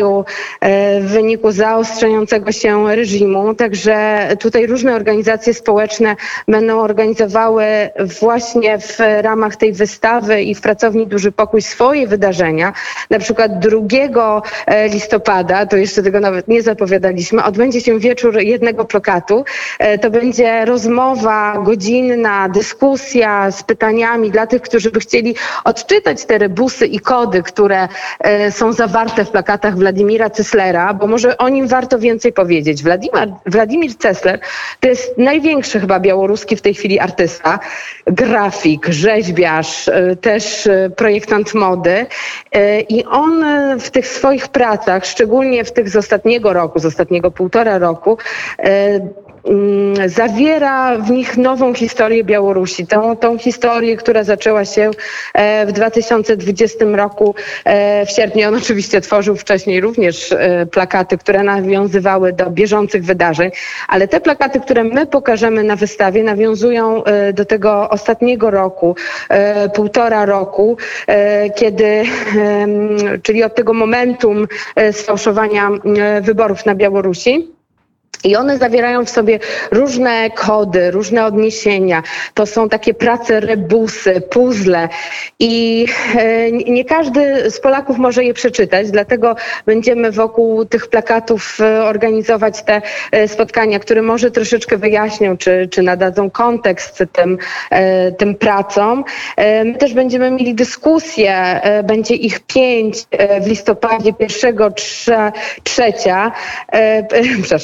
w wyniku zaostrzającego się reżimu. Także tutaj różne organizacje społeczne będą organizowały właśnie w ramach tej wystawy i w Pracowni Duży Pokój swoje wydarzenia. Na przykład 2 listopada, to jeszcze tego nawet nie zapowiadaliśmy, odbędzie się wieczór jednego plakatu. To będzie rozmowa godzinna, dyskusja z pytaniami dla tych, którzy by chcieli odczytać te rebusy i kody, które są zawarte w plakatach Władimira Ceslera, bo może o nim warto więcej powiedzieć. Władimir Cesler to jest największy chyba białoruski w tej chwili artysta, grafik, rzeźbiarz, też projektant mody i on w tych swoich pracach, szczególnie w tych z ostatniego roku, z ostatniego 1,5 roku, zawiera w nich nową historię Białorusi. Tą historię, która zaczęła się w 2020 roku w sierpniu. On oczywiście tworzył wcześniej również plakaty, które nawiązywały do bieżących wydarzeń, ale te plakaty, które my pokażemy na wystawie, nawiązują do tego ostatniego roku, 1,5 roku, kiedy, czyli od tego momentum sfałszowania wyborów na Białorusi. I one zawierają w sobie różne kody, różne odniesienia. To są takie prace, rebusy, puzzle i nie każdy z Polaków może je przeczytać, dlatego będziemy wokół tych plakatów organizować te spotkania, które może troszeczkę wyjaśnią, czy nadadzą kontekst tym pracom. My też będziemy mieli dyskusje, będzie ich 5 w listopadzie, 1, 3,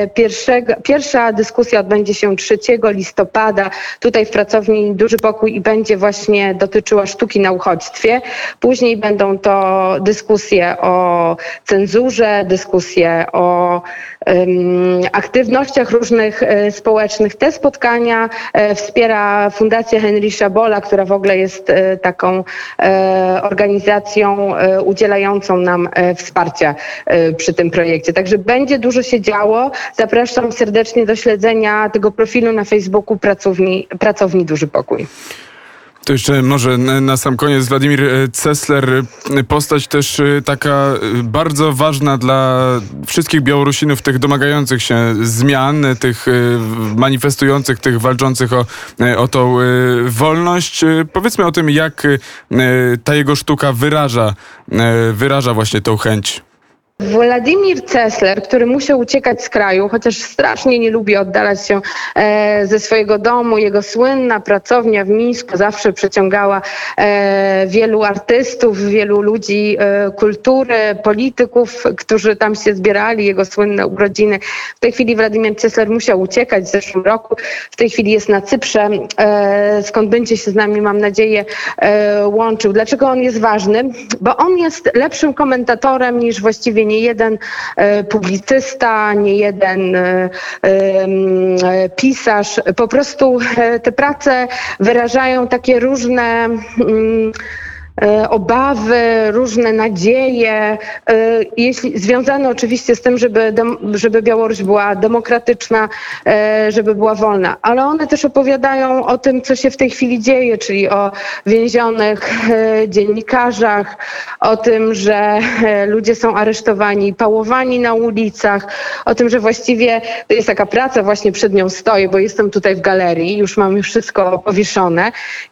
Pierwsza dyskusja odbędzie się 3 listopada tutaj w pracowni Duży Pokój i będzie właśnie dotyczyła sztuki na uchodźstwie. Później będą to dyskusje o cenzurze, dyskusje o aktywnościach różnych społecznych. Te spotkania wspiera Fundacja Heinricha Bolla, która w ogóle jest taką organizacją udzielającą nam wsparcia przy tym projekcie. Także będzie dużo się działo. Zapraszam serdecznie do śledzenia tego profilu na Facebooku Pracowni Duży Pokój. To jeszcze może na sam koniec Władimir Cesler, postać też taka bardzo ważna dla wszystkich Białorusinów, tych domagających się zmian, tych manifestujących, tych walczących o tą wolność. Powiedzmy o tym, jak ta jego sztuka wyraża właśnie tą chęć. Władimir Cesler, który musiał uciekać z kraju, chociaż strasznie nie lubi oddalać się ze swojego domu. Jego słynna pracownia w Mińsku zawsze przyciągała wielu artystów, wielu ludzi kultury, polityków, którzy tam się zbierali, jego słynne urodziny. W tej chwili Władimir Cesler musiał uciekać w zeszłym roku. W tej chwili jest na Cyprze, skąd będzie się z nami, mam nadzieję, łączył. Dlaczego on jest ważny? Bo on jest lepszym komentatorem niż właściwie nie jeden publicysta, nie jeden pisarz. Po prostu te prace wyrażają takie różne obawy, różne nadzieje, związane oczywiście z tym, żeby Białoruś była demokratyczna, żeby była wolna. Ale one też opowiadają o tym, co się w tej chwili dzieje, czyli o więzionych dziennikarzach, o tym, że ludzie są aresztowani, pałowani na ulicach, o tym, że właściwie to jest taka praca, właśnie przed nią stoję, bo jestem tutaj w galerii, już mam wszystko powieszone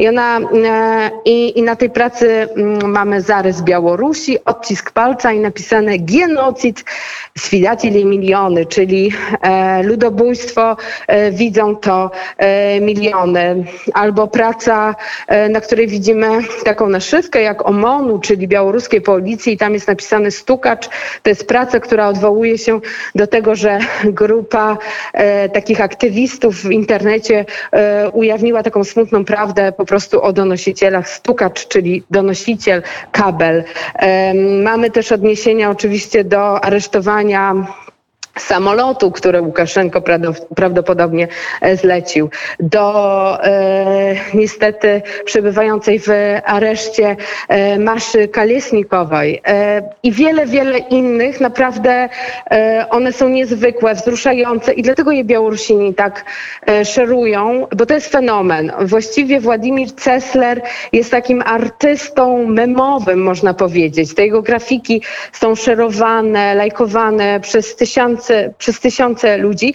i na tej pracy mamy zarys Białorusi, odcisk palca i napisane genocid swidatili miliony, czyli ludobójstwo, widzą to miliony. Albo praca, na której widzimy taką naszywkę jak OMON-u, czyli białoruskiej policji i tam jest napisane stukacz. To jest praca, która odwołuje się do tego, że grupa takich aktywistów w internecie ujawniła taką smutną prawdę po prostu o donosicielach. Stukacz, czyli donosiciel, kabel. Mamy też odniesienia oczywiście do aresztowania samolotu, który Łukaszenko prawdopodobnie zlecił, do niestety przebywającej w areszcie Maszy Kalesnikowej i wiele innych. Naprawdę one są niezwykłe, wzruszające i dlatego je Białorusini tak szerują, bo to jest fenomen. Właściwie Władimir Cesler jest takim artystą memowym, można powiedzieć. Te jego grafiki są szerowane, lajkowane przez tysiące ludzi,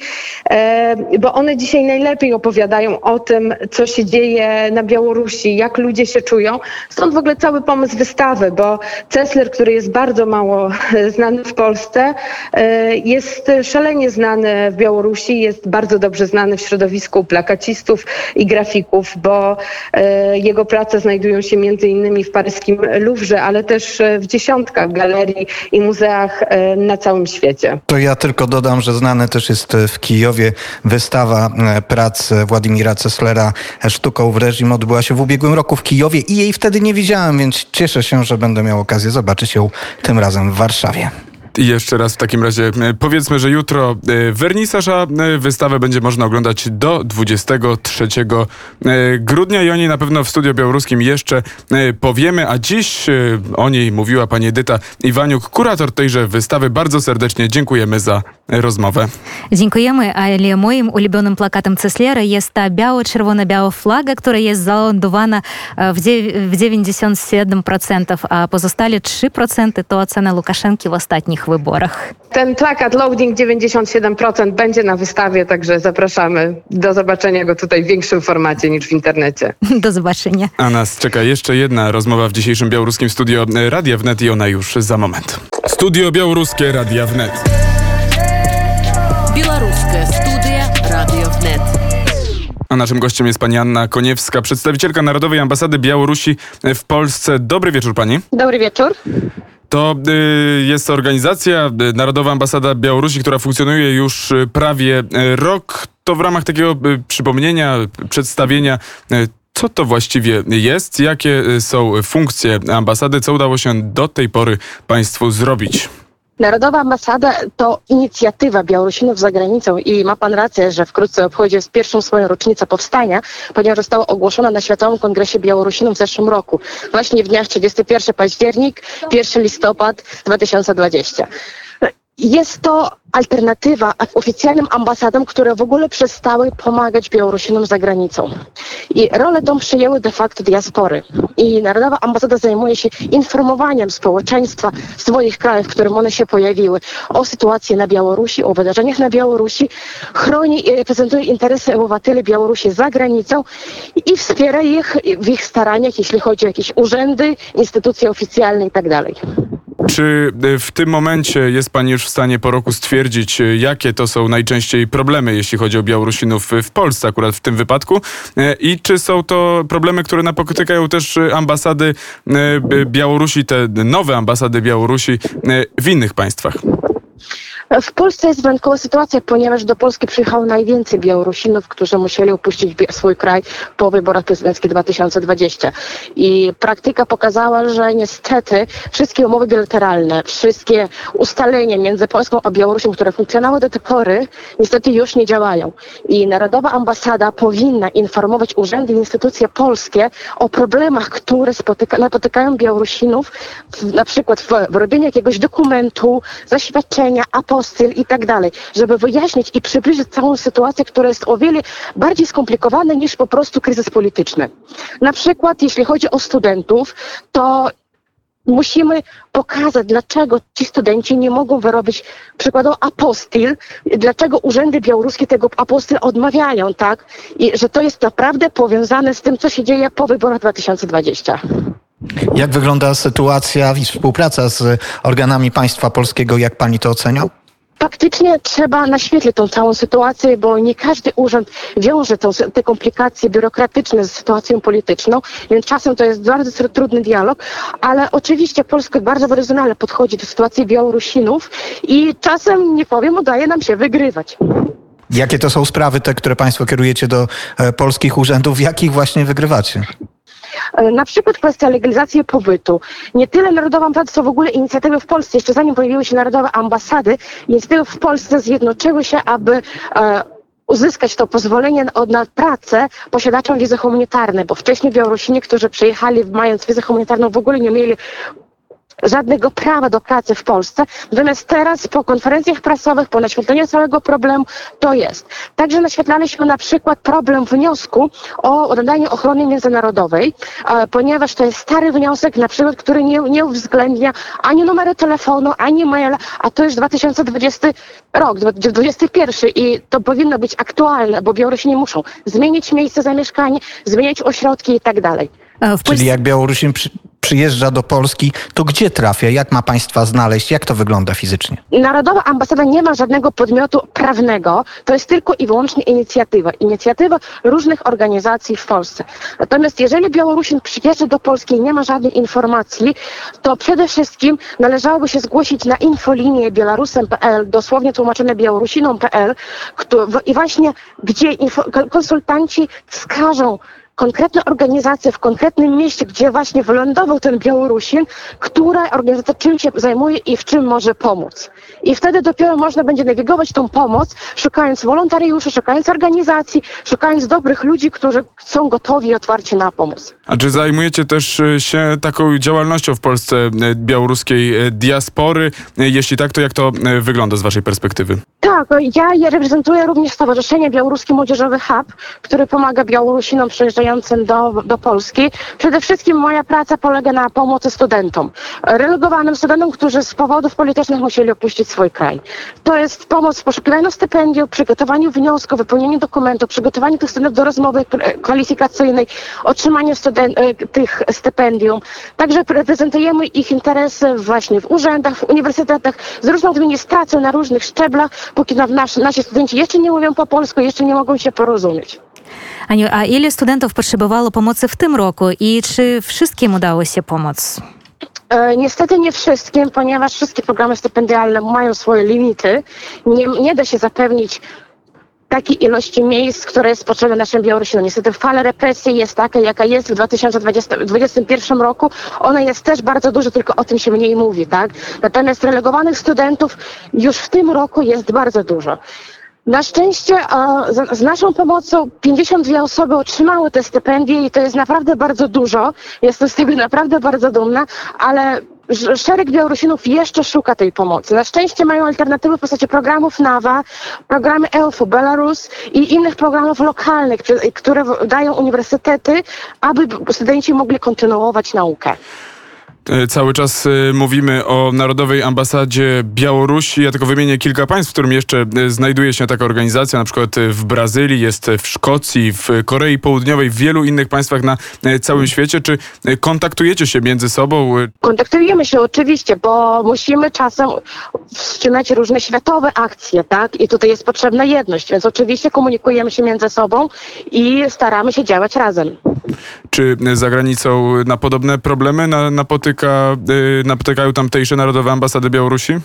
bo one dzisiaj najlepiej opowiadają o tym, co się dzieje na Białorusi, jak ludzie się czują. Stąd w ogóle cały pomysł wystawy, bo Cesler, który jest bardzo mało znany w Polsce, jest szalenie znany w Białorusi, jest bardzo dobrze znany w środowisku plakacistów i grafików, bo jego prace znajdują się między innymi w paryskim Louvre, ale też w dziesiątkach galerii i muzeach na całym świecie. To ja tylko dodam, że znane też jest w Kijowie wystawa prac Władimira Ceslera Sztuką w reżim. Odbyła się w ubiegłym roku w Kijowie i jej wtedy nie widziałem, więc cieszę się, że będę miał okazję zobaczyć ją tym razem w Warszawie. I jeszcze raz w takim razie powiedzmy, że jutro wernisaż, a wystawę będzie można oglądać do 23 grudnia i o niej na pewno w Studio Białoruskim jeszcze powiemy, a dziś o niej mówiła pani Edyta Iwaniuk, kurator tejże wystawy. Bardzo serdecznie dziękujemy za rozmowę. Dziękujemy, ale moim ulubionym plakatem Ceslera jest ta biało-czerwona flaga, która jest zalandowana w 97%, a pozostali 3% to ocena Łukaszenki w ostatnich wyborach. Ten plakat Loading 97% będzie na wystawie, także zapraszamy do zobaczenia go tutaj w większym formacie niż w internecie. Do zobaczenia. A nas czeka jeszcze jedna rozmowa w dzisiejszym białoruskim studio Radia Wnet i ona już za moment. Studio Białoruskie Radia Wnet. Białoruskie Studia Radio Wnet. A naszym gościem jest pani Anna Koniewska, przedstawicielka Narodowej Ambasady Białorusi w Polsce. Dobry wieczór pani. Dobry wieczór. To jest organizacja, Narodowa Ambasada Białorusi, która funkcjonuje już prawie rok. To w ramach takiego przypomnienia, przedstawienia, co to właściwie jest, jakie są funkcje ambasady, co udało się do tej pory państwu zrobić. Narodowa Ambasada to inicjatywa Białorusinów za granicą i ma pan rację, że wkrótce obchodzi pierwszą swoją rocznicę powstania, ponieważ została ogłoszona na Światowym Kongresie Białorusinów w zeszłym roku. Właśnie w dniach 31 październik, 1 listopad 2020. Jest to alternatywa oficjalnym ambasadom, które w ogóle przestały pomagać Białorusinom za granicą. I rolę tą przyjęły de facto diaspory. I Narodowa Ambasada zajmuje się informowaniem społeczeństwa w swoich krajach, w którym one się pojawiły, o sytuacji na Białorusi, o wydarzeniach na Białorusi, chroni i reprezentuje interesy obywateli Białorusi za granicą i wspiera ich w ich staraniach, jeśli chodzi o jakieś urzędy, instytucje oficjalne itd. Czy w tym momencie jest pani już w stanie po roku stwierdzić, jakie to są najczęściej problemy, jeśli chodzi o Białorusinów w Polsce, akurat w tym wypadku? I czy są to problemy, które napotykają też ambasady Białorusi, te nowe ambasady Białorusi w innych państwach? W Polsce jest wyjątkowa sytuacja, ponieważ do Polski przyjechało najwięcej Białorusinów, którzy musieli opuścić swój kraj po wyborach prezydenckich 2020. I praktyka pokazała, że niestety wszystkie umowy bilateralne, wszystkie ustalenia między Polską a Białorusią, które funkcjonowały do tej pory, niestety już nie działają. I Narodowa Ambasada powinna informować urzędy i instytucje polskie o problemach, które napotykają Białorusinów, na przykład w robieniu jakiegoś dokumentu, zaświadczenia, apostyl i tak dalej, żeby wyjaśnić i przybliżyć całą sytuację, która jest o wiele bardziej skomplikowana niż po prostu kryzys polityczny. Na przykład, jeśli chodzi o studentów, to musimy pokazać, dlaczego ci studenci nie mogą wyrobić przykładowo apostyl, dlaczego urzędy białoruskie tego apostyl odmawiają, tak? I że to jest naprawdę powiązane z tym, co się dzieje po wyborach 2020. Jak wygląda sytuacja i współpraca z organami państwa polskiego? Jak pani to ocenia? Faktycznie trzeba naświetlić tą całą sytuację, bo nie każdy urząd wiąże te komplikacje biurokratyczne z sytuacją polityczną, więc czasem to jest bardzo trudny dialog, ale oczywiście Polska bardzo profesjonalnie podchodzi do sytuacji Białorusinów i czasem, nie powiem, udaje nam się wygrywać. Jakie to są sprawy, te, które państwo kierujecie do polskich urzędów, jakich właśnie wygrywacie? Na przykład kwestia legalizacji pobytu. Nie tyle Narodowa Ambasada, co w ogóle inicjatywy w Polsce. Jeszcze zanim pojawiły się Narodowe Ambasady, inicjatywy w Polsce zjednoczyły się, aby uzyskać to pozwolenie na pracę posiadaczom wizy humanitarnej, bo wcześniej Białorusini, którzy przyjechali mając wizę humanitarną, w ogóle nie mieli żadnego prawa do pracy w Polsce. Natomiast teraz po konferencjach prasowych, po naświetleniu całego problemu to jest. Także naświetlaliśmy na przykład problem wniosku o nadanie ochrony międzynarodowej, ponieważ to jest stary wniosek, na przykład, który nie uwzględnia ani numeru telefonu, ani maila, a to już 2020 rok, 2021 i to powinno być aktualne, bo Białorusini muszą zmienić miejsce zamieszkania, zmienić ośrodki i tak dalej. Czyli jak Białorusin przyjeżdża do Polski, to gdzie trafia? Jak ma państwa znaleźć? Jak to wygląda fizycznie? Narodowa Ambasada nie ma żadnego podmiotu prawnego. To jest tylko i wyłącznie inicjatywa różnych organizacji w Polsce. Natomiast jeżeli Białorusin przyjeżdża do Polski i nie ma żadnej informacji, to przede wszystkim należałoby się zgłosić na infolinię białorusem.pl, dosłownie tłumaczone białorusinom.pl i właśnie gdzie konsultanci wskażą konkretne organizacje w konkretnym mieście, gdzie właśnie wylądował ten Białorusin, która organizacja czym się zajmuje i w czym może pomóc. I wtedy dopiero można będzie nawigować tą pomoc, szukając wolontariuszy, szukając organizacji, szukając dobrych ludzi, którzy są gotowi i otwarci na pomoc. A czy zajmujecie też się taką działalnością w Polsce białoruskiej diaspory? Jeśli tak, to jak to wygląda z waszej perspektywy? Tak, ja reprezentuję również Stowarzyszenie Białoruski Młodzieżowy Hub, który pomaga Białorusinom przyjeżdżającym do Polski. Przede wszystkim moja praca polega na pomocy studentom. Relegowanym studentom, którzy z powodów politycznych musieli opuścić swój kraj. To jest pomoc w poszukiwaniu stypendium, przygotowaniu wniosku, wypełnieniu dokumentów, przygotowaniu tych studentów do rozmowy kwalifikacyjnej, otrzymaniu tych stypendium. Także reprezentujemy ich interesy właśnie w urzędach, w uniwersytetach, z różną administracją na różnych szczeblach, póki nasi studenci jeszcze nie mówią po polsku, jeszcze nie mogą się porozumieć. Aniu, a ile studentów potrzebowało pomocy w tym roku i czy wszystkim udało się pomóc? Niestety nie wszystkim, ponieważ wszystkie programy stypendialne mają swoje limity. Nie da się zapewnić takiej ilości miejsc, które jest potrzebne naszym Białorusinom. Niestety fala represji jest taka, jaka jest w 2021 roku. Ona jest też bardzo duża, tylko o tym się mniej mówi, tak? Natomiast relegowanych studentów już w tym roku jest bardzo dużo. Na szczęście z naszą pomocą 52 osoby otrzymały te stypendie i to jest naprawdę bardzo dużo. Jestem z tego naprawdę bardzo dumna, ale szereg Białorusinów jeszcze szuka tej pomocy. Na szczęście mają alternatywy w postaci programów NAWA, programy EUFO, Belarus i innych programów lokalnych, które dają uniwersytety, aby studenci mogli kontynuować naukę. Cały czas mówimy o Narodowej Ambasadzie Białorusi. Ja tylko wymienię kilka państw, w którym jeszcze znajduje się taka organizacja, na przykład w Brazylii, jest w Szkocji, w Korei Południowej, w wielu innych państwach na całym świecie. Czy kontaktujecie się między sobą? Kontaktujemy się oczywiście, bo musimy czasem wstrzymać różne światowe akcje, tak? I tutaj jest potrzebna jedność, więc oczywiście komunikujemy się między sobą i staramy się działać razem. Czy za granicą na podobne problemy napotykają tamtejsze Narodowe Ambasady Białorusi?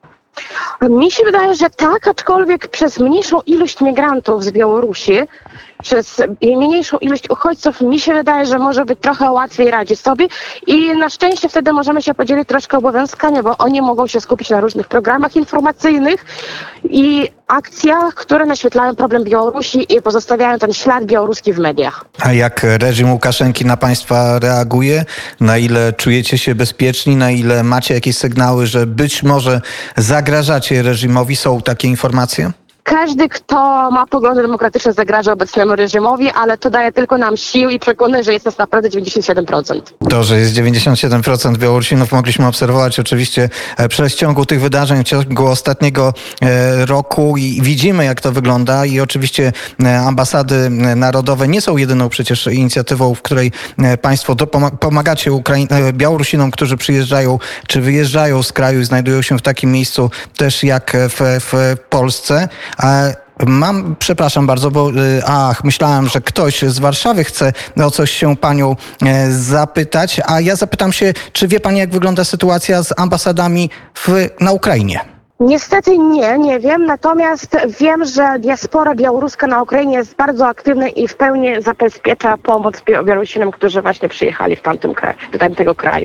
Mi się wydaje, że tak, aczkolwiek przez mniejszą ilość migrantów z Białorusi, przez mniejszą ilość uchodźców, mi się wydaje, że może być trochę łatwiej radzić sobie i na szczęście wtedy możemy się podzielić troszkę obowiązkami, bo oni mogą się skupić na różnych programach informacyjnych i akcjach, które naświetlają problem Białorusi i pozostawiają ten ślad białoruski w mediach. A jak reżim Łukaszenki na państwa reaguje? Na ile czujecie się bezpieczni? Na ile macie jakieś sygnały, że być może zagrażacie reżimowi? Są takie informacje? Każdy, kto ma poglądy demokratyczne, zagraża obecnemu reżimowi, ale to daje tylko nam sił i przekonuje, że jest nas naprawdę 97%. To, że jest 97% Białorusinów, mogliśmy obserwować oczywiście przez ciągu tych wydarzeń, w ciągu ostatniego roku i widzimy, jak to wygląda i oczywiście ambasady narodowe nie są jedyną przecież inicjatywą, w której państwo pomagacie Białorusinom, którzy przyjeżdżają czy wyjeżdżają z kraju i znajdują się w takim miejscu też jak w Polsce. Przepraszam bardzo, bo myślałem, że ktoś z Warszawy chce o coś się panią zapytać, a ja zapytam się, czy wie pani, jak wygląda sytuacja z ambasadami na Ukrainie? Niestety nie wiem, natomiast wiem, że diaspora białoruska na Ukrainie jest bardzo aktywna i w pełni zabezpiecza pomoc Białorusinom, którzy właśnie przyjechali do tamtego kraju.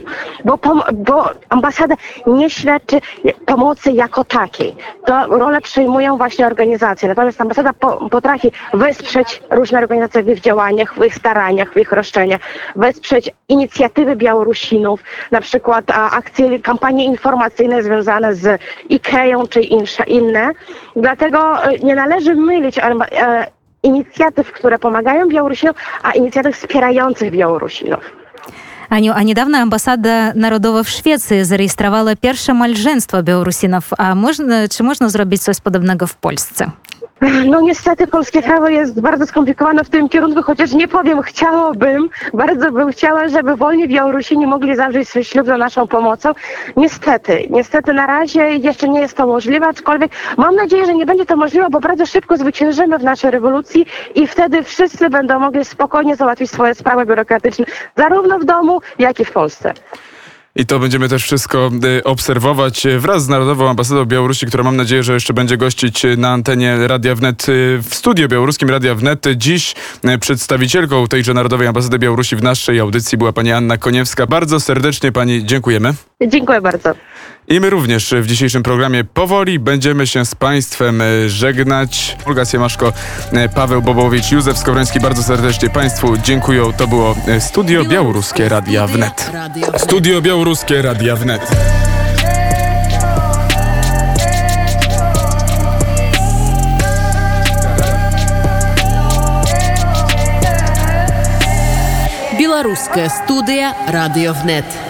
Bo ambasada nie świadczy pomocy jako takiej. To rolę przejmują właśnie organizacje. Natomiast ambasada potrafi wesprzeć różne organizacje w ich działaniach, w ich staraniach, w ich roszczeniach, wesprzeć inicjatywy Białorusinów, na przykład akcje, kampanie informacyjne związane z IKEA czy inne. Dlatego nie należy mylić inicjatyw, które pomagają Białorusinom, a inicjatyw wspierających Białorusinów. Aniu, a niedawno Ambasada Narodowa w Szwecji zarejestrowała pierwsze małżeństwo Białorusinów. Czy można zrobić coś podobnego w Polsce? No niestety polskie prawo jest bardzo skomplikowane w tym kierunku, chociaż nie powiem, bardzo bym chciała, żeby wolni Białorusini mogli zawrzeć swój ślub za naszą pomocą. Niestety na razie jeszcze nie jest to możliwe, aczkolwiek mam nadzieję, że nie będzie to możliwe, bo bardzo szybko zwyciężymy w naszej rewolucji i wtedy wszyscy będą mogli spokojnie załatwić swoje sprawy biurokratyczne, zarówno w domu, jak i w Polsce. I to będziemy też wszystko obserwować wraz z Narodową Ambasadą Białorusi, która mam nadzieję, że jeszcze będzie gościć na antenie Radia Wnet w studiu białoruskim Radia Wnet. Dziś przedstawicielką tejże Narodowej Ambasady Białorusi w naszej audycji była pani Anna Koniewska. Bardzo serdecznie pani dziękujemy. Dziękuję bardzo. I my również w dzisiejszym programie powoli będziemy się z państwem żegnać. Olga Siemaszko, Paweł Bobowicz, Józef Skowroński, bardzo serdecznie państwu dziękuję. To było Studio Białoruskie Radia Wnet. Studio Białoruskie Radia Wnet. Белорусская студия «Радио ВНЕТ».